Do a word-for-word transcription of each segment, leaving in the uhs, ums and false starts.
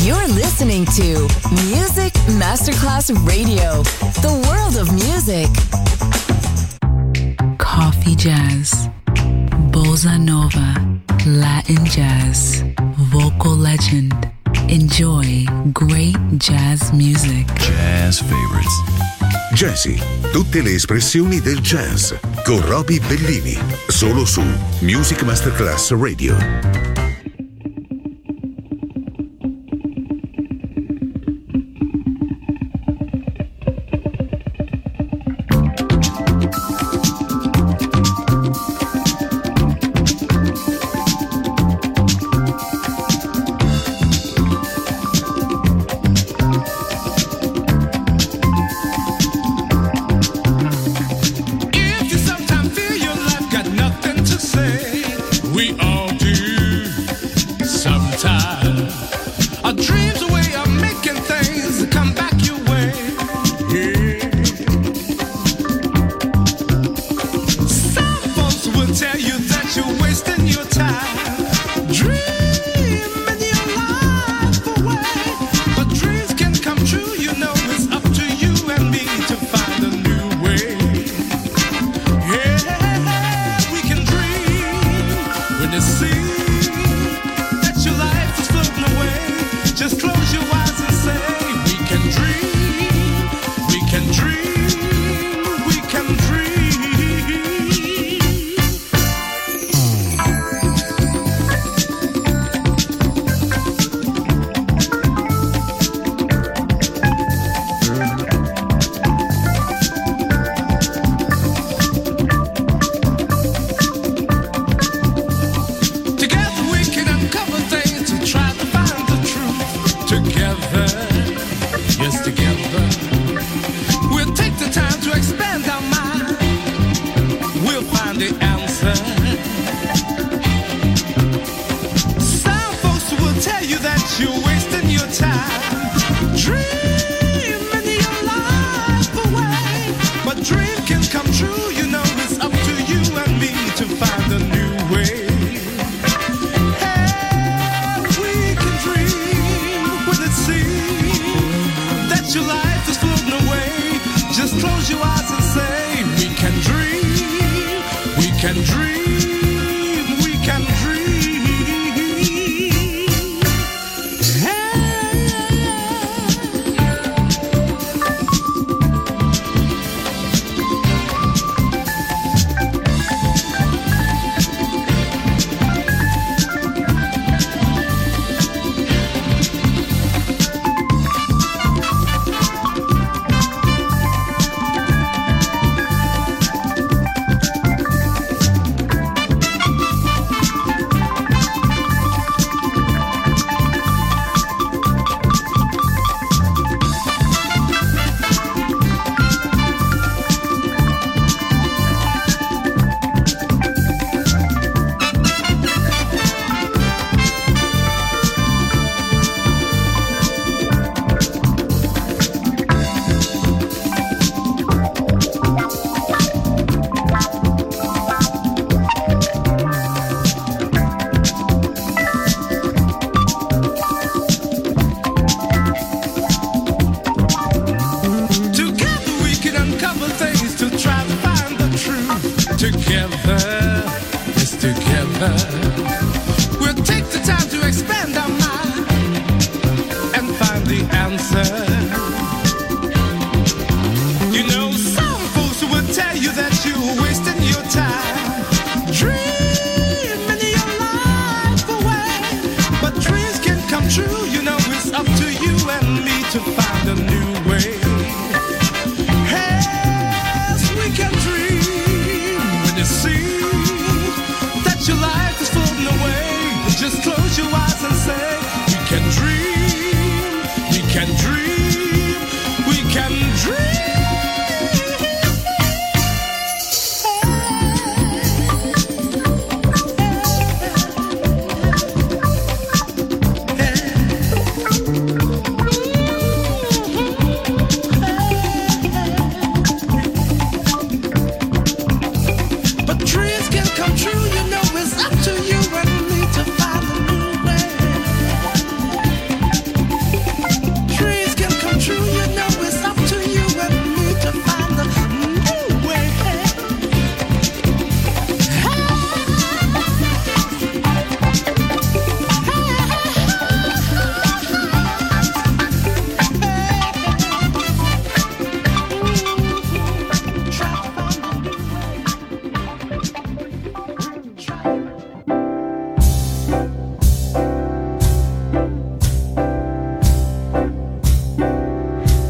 You're listening to Music Masterclass Radio, the world of music. Coffee jazz, bossa nova, Latin jazz, vocal legend. Enjoy great jazz music. Jazz favorites. Jazzy, tutte le espressioni del jazz con Roby Bellini, solo su Music Masterclass Radio.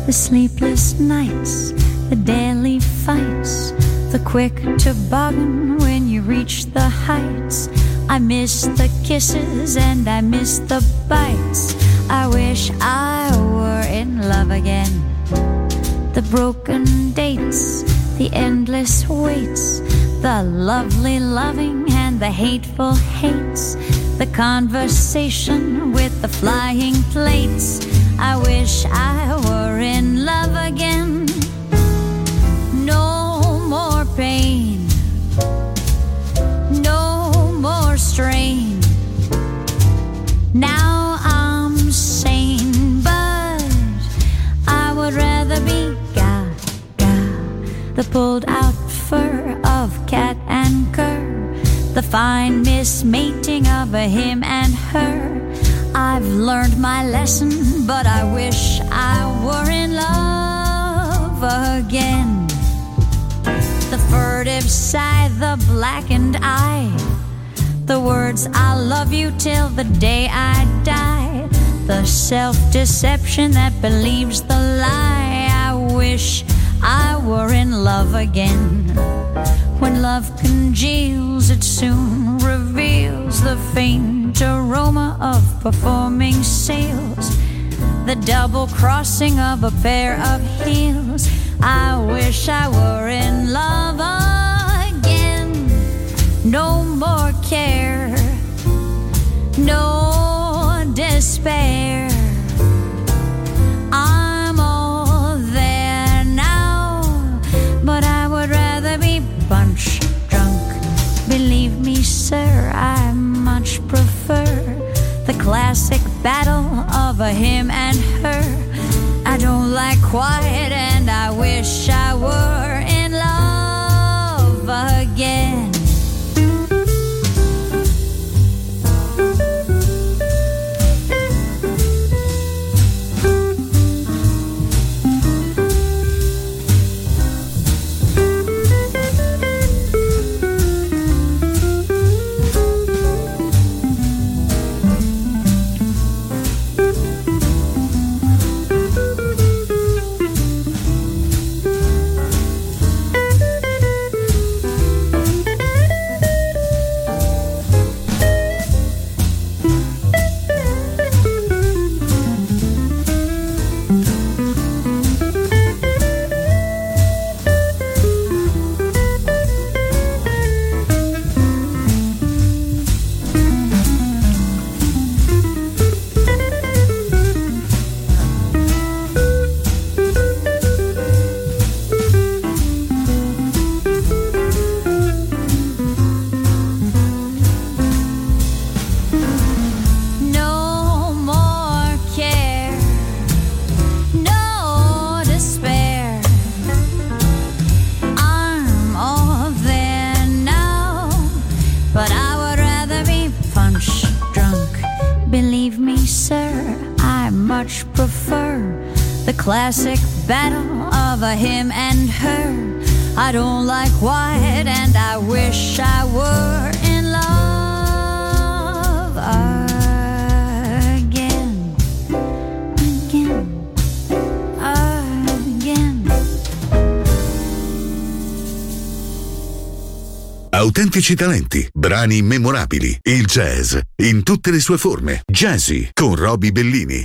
the sleepless nights, the daily fights, the quick toboggan when you reach the heights. I miss the kisses and I miss the bites. I wish I were in love again. The broken dates, the endless waits, the lovely loving and the hateful hates, the conversation with the flying plates. I wish I were in love again. No more pain, no more strain. Now I'm sane, but I would rather be Gaga, the pulled out fur of cat and cur, the fine mismating of a him and her. I've learned my lesson, but I wish I were in love again. The furtive sigh, the blackened eye, the words I love you till the day I die, the self-deception that believes the lie. I wish I were in love again. When love congeals, it soon reveals the faint aroma of performing sails, the double crossing of a pair of heels. I wish I were in love again. No more care, no despair. I'm all there now, but I would rather be punch drunk. Believe me, sir, I much prefer the classic battle of a him and her. I don't like quiet and I wish I were in love again. Classic battle of a him and her. I don't like white and I wish I were in love again, again, again. Autentici talenti, brani memorabili, il jazz in tutte le sue forme. Jazzy con Roby Bellini.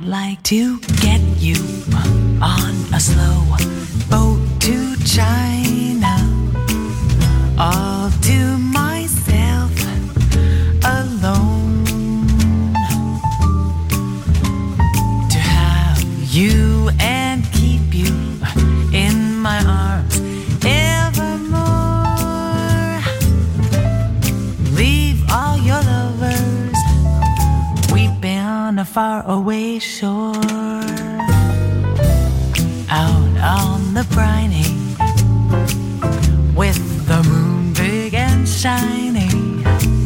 like to get you on a slow boat to China, all to myself alone. To have you and keep you in my arms evermore. Leave all your lovers weeping on a faraway shore. Out on the briny, with the moon big and shining,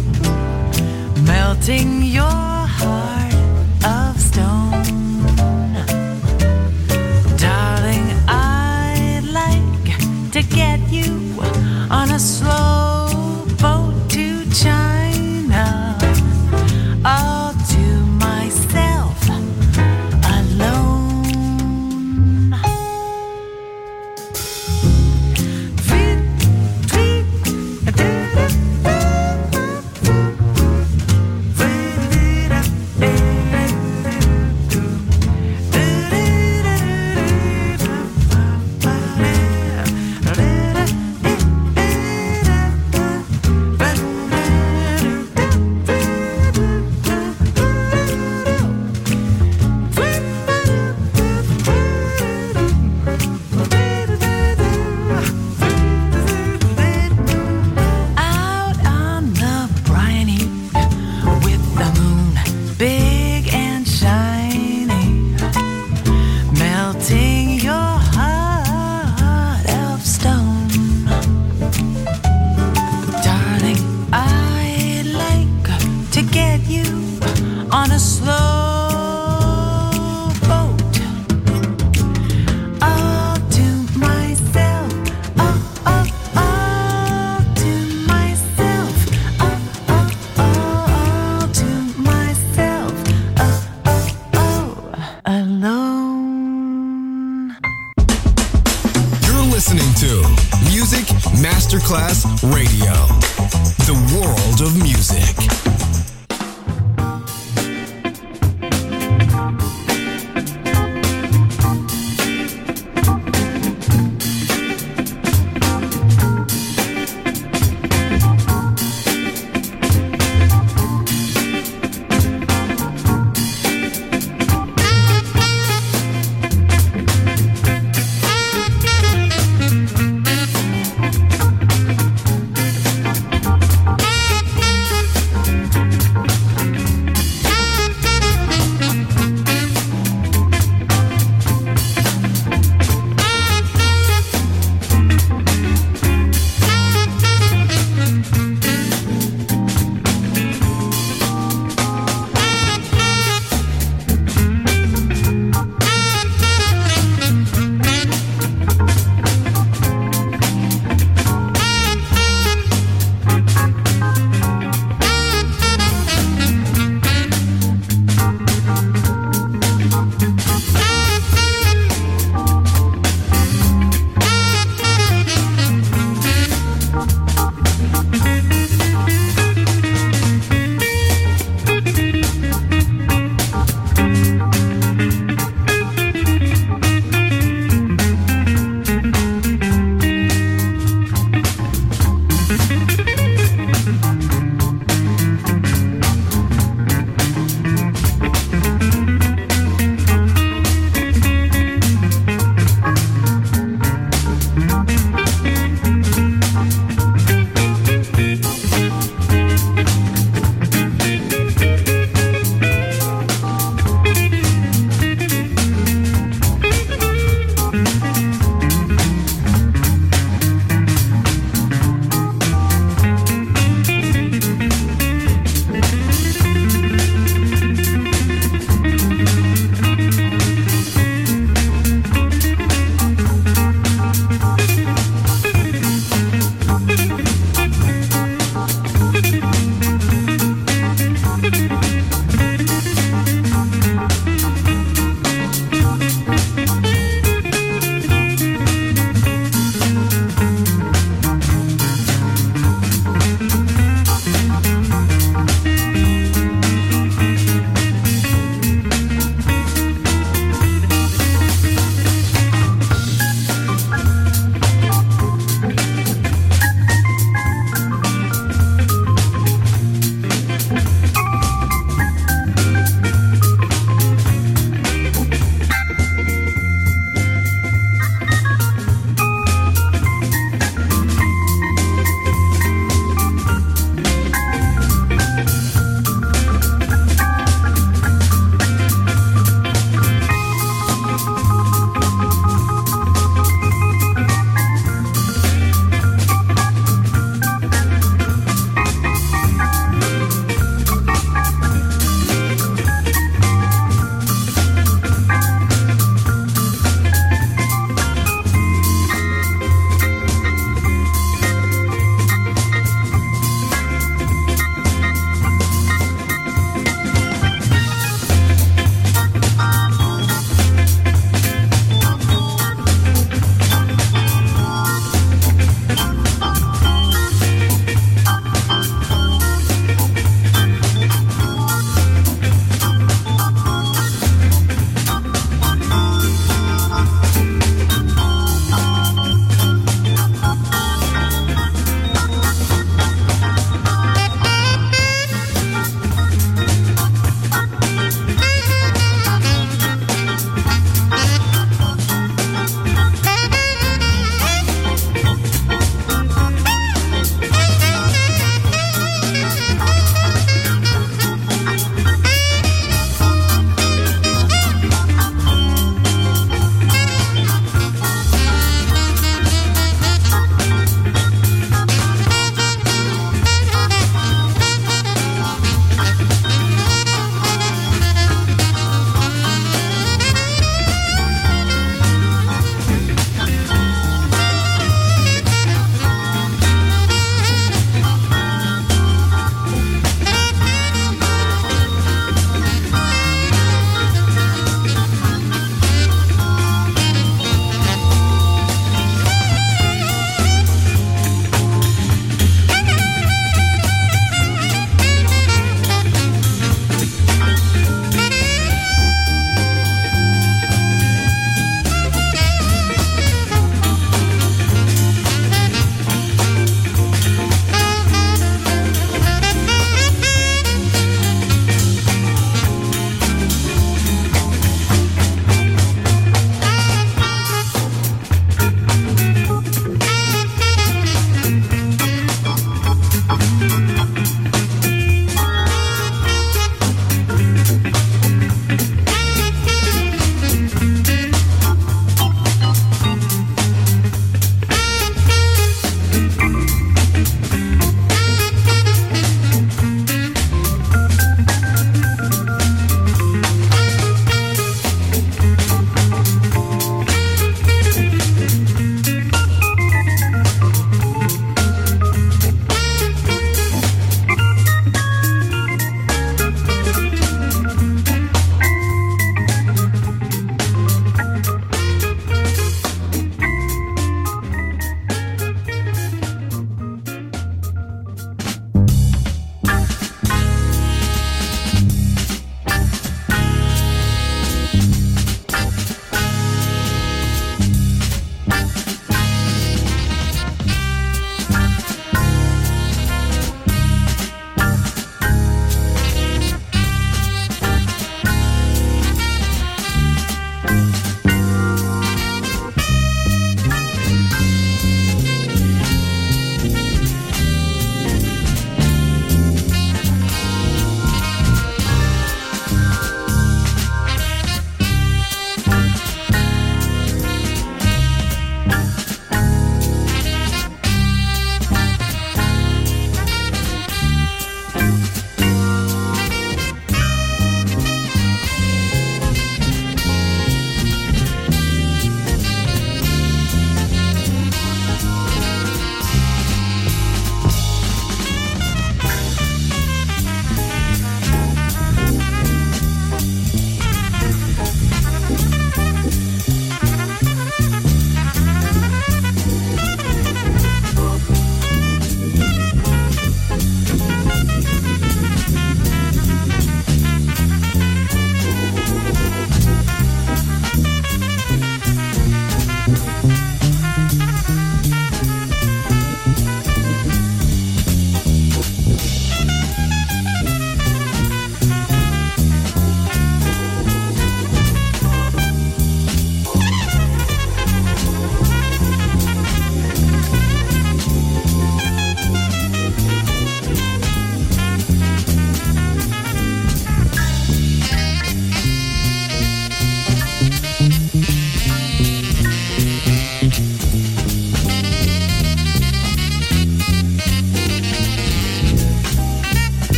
melting your heart of stone. Darling, I'd like to get you on a slow boat to China, all to myself alone. Masterclass Radio, the world of music.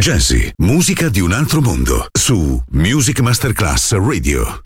Jazzy, musica di un altro mondo, su Music Masterclass Radio.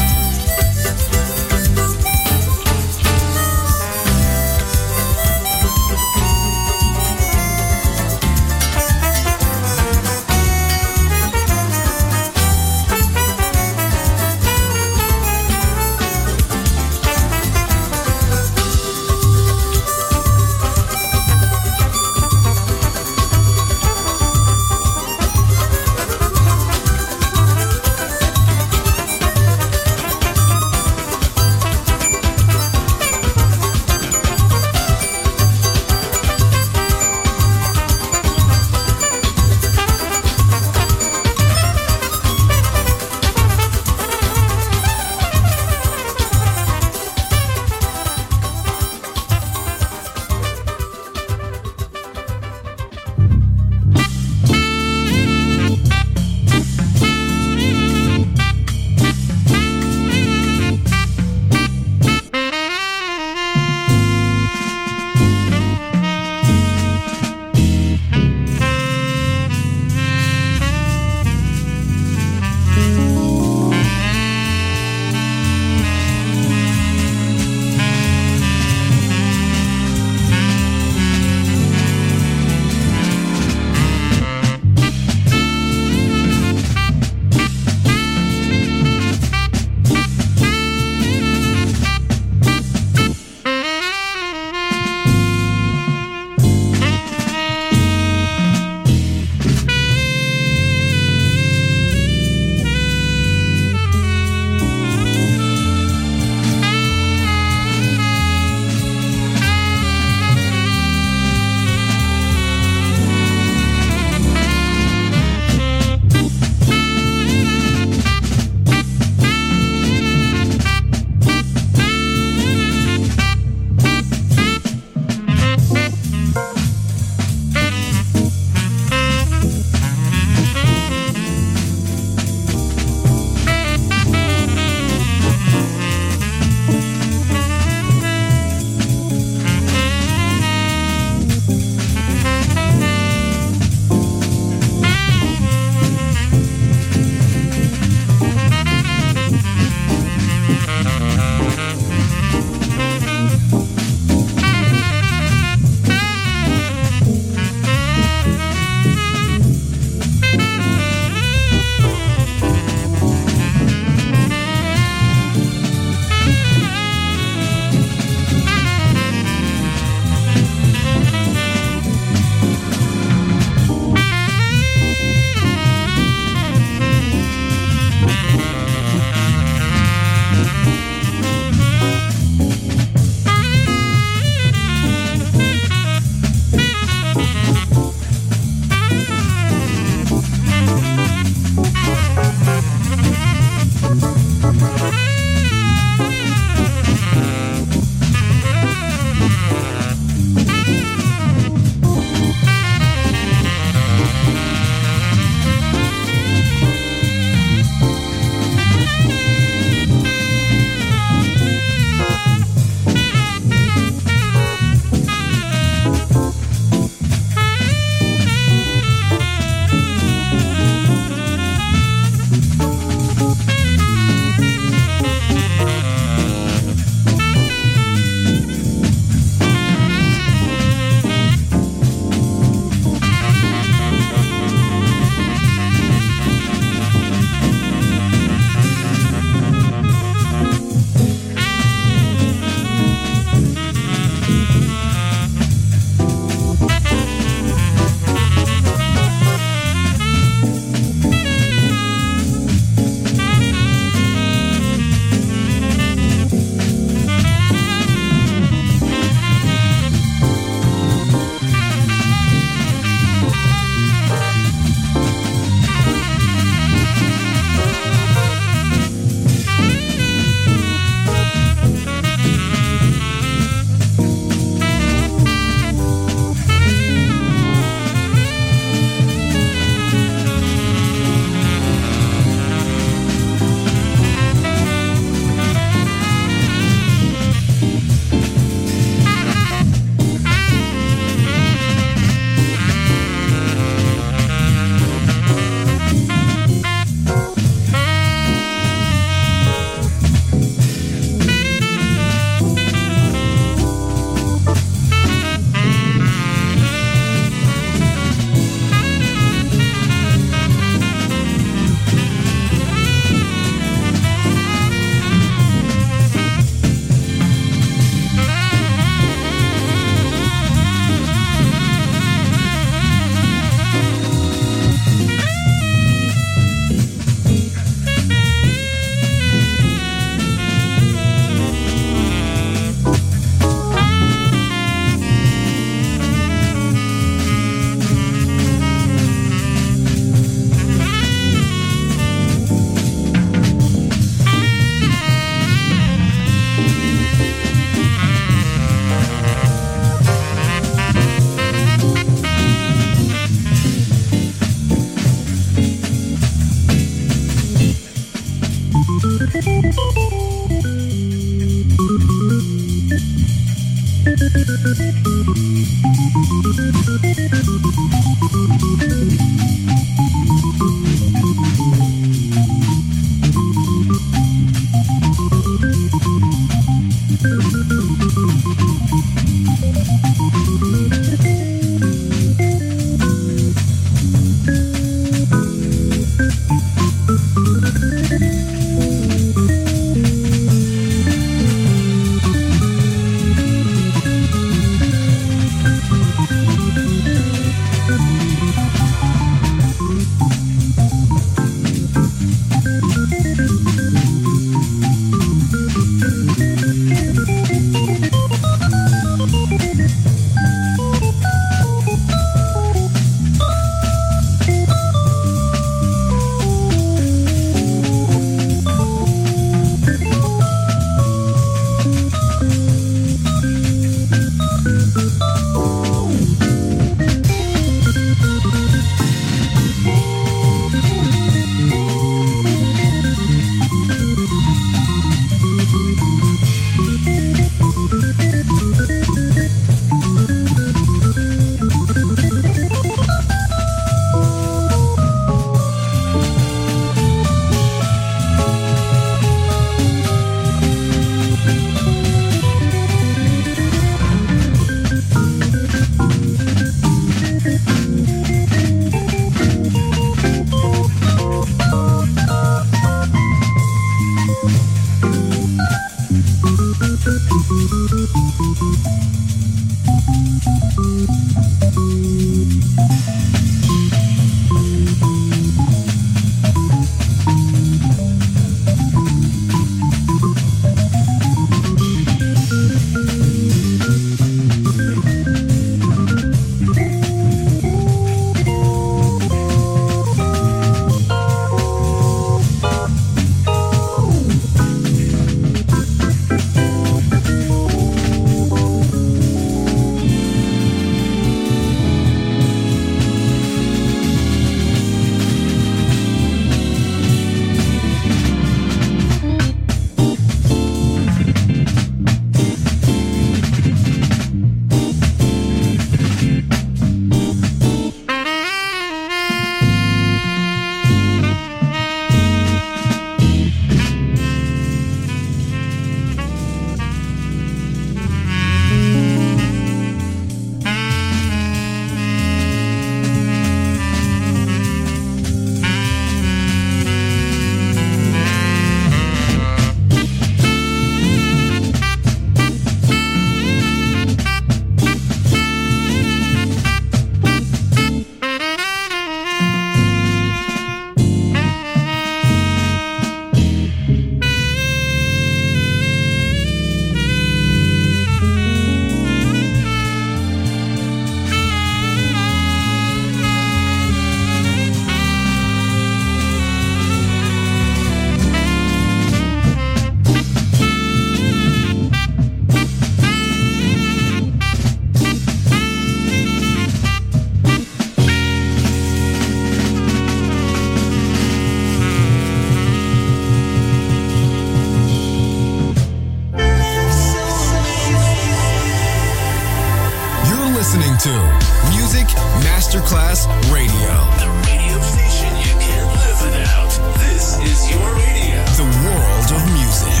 to Music Masterclass Radio. The radio station you can't live without. This is your radio. The world of music.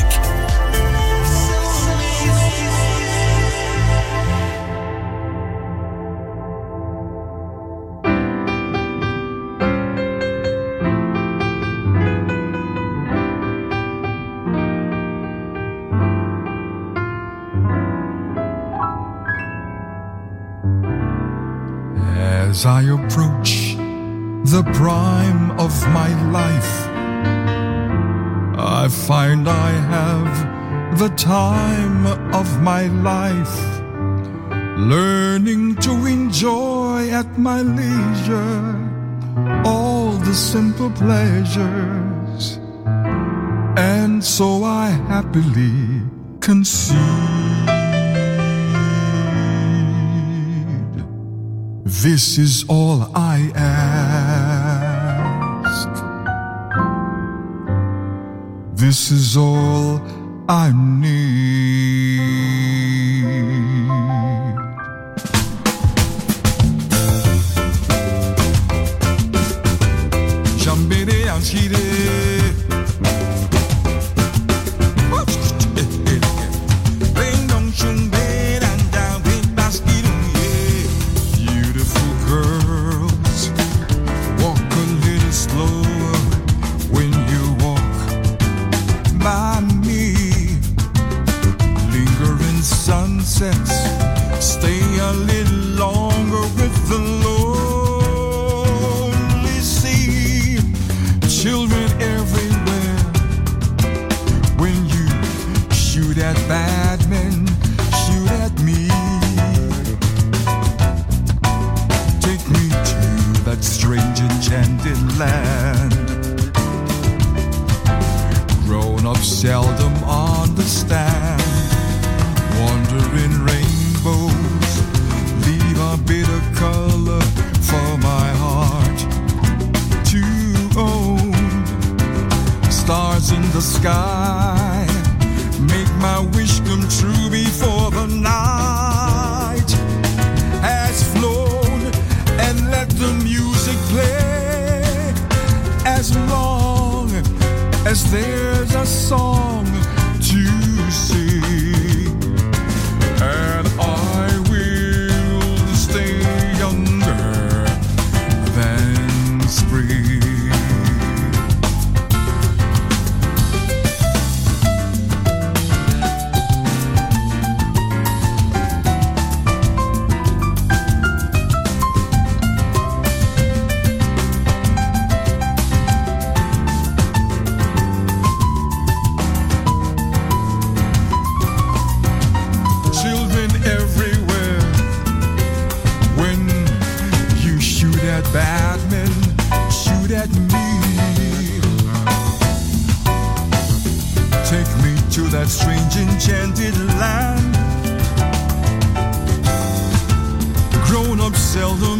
As I approach the prime of my life, I find I have the time of my life, learning to enjoy at my leisure all the simple pleasures, and so I happily concede. This is all I ask. This is all I need. Jambere anchide. Stay a little longer with the lonely sea. Children everywhere. When you shoot at bad men, shoot at me. Take me to that strange enchanted land. Grown-ups seldom understand. Wandering rainbows leave a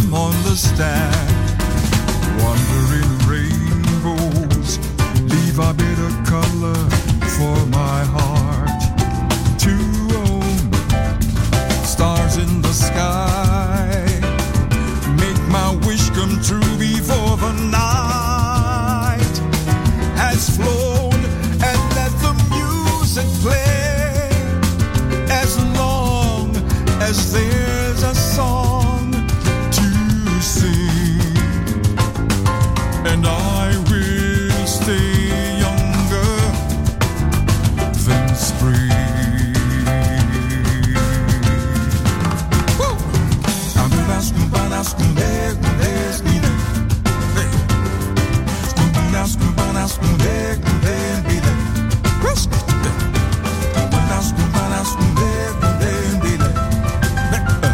them understand. Wandering rainbows leave a bit of color for my heart to own. Stars in the sky make my wish come true before the night has flown, and let the music play as long as there's a song to sing, and I will stay younger than spring. Woo! I'm gonna scuba, scuba, scuba, scuba. Scuba, scuba, scuba, scuba. Scuba, scuba, scuba, scuba.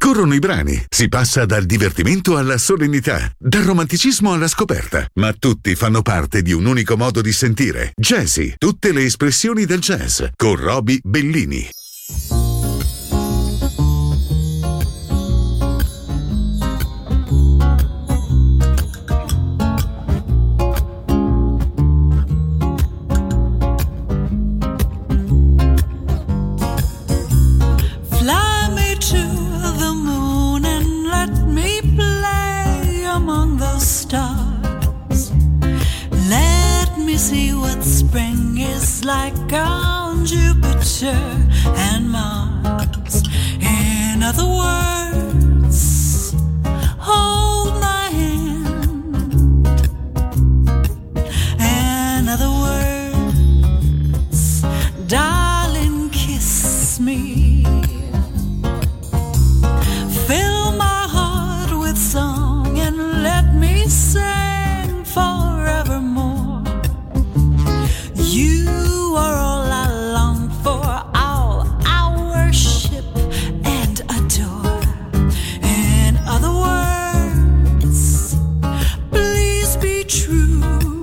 Scorrono i brani, si passa dal divertimento alla solennità, dal romanticismo alla scoperta, ma tutti fanno parte di un unico modo di sentire. Jazzy, tutte le espressioni del jazz, con Roby Bellini. See what spring is like on Jupiter and Mars. In other words, hold my hand. In other words, darling, kiss me. Fill my heart with song and let me sing forevermore. You are all I long for, all I worship and adore. In other words, please be true.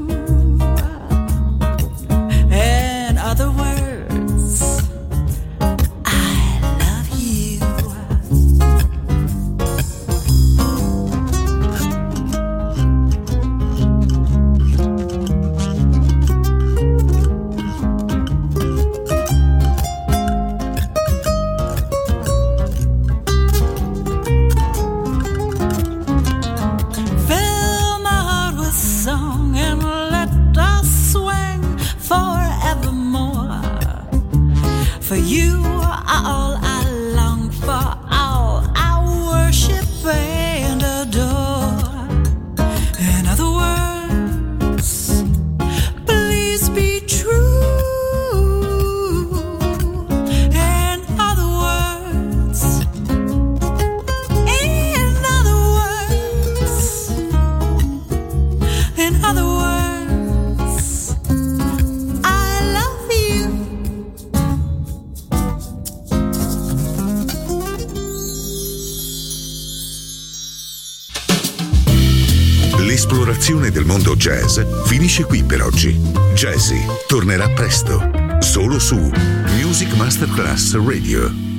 In other words, I love you. For you are all I long for, all I worship and adore. In other words, please be true. In other words, in other words, in other words, I love you. L'esplorazione del mondo jazz finisce qui per oggi. Jazzy tornerà presto, solo su Music Masterclass Radio.